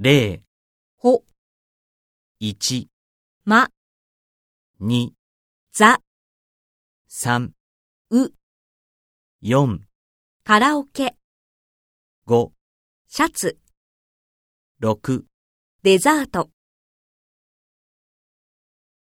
0、 ほ、 1、 ま、 2、 ざ、 3、 う、 4、 カラオケ、 5、 シャツ、 6、 デザート。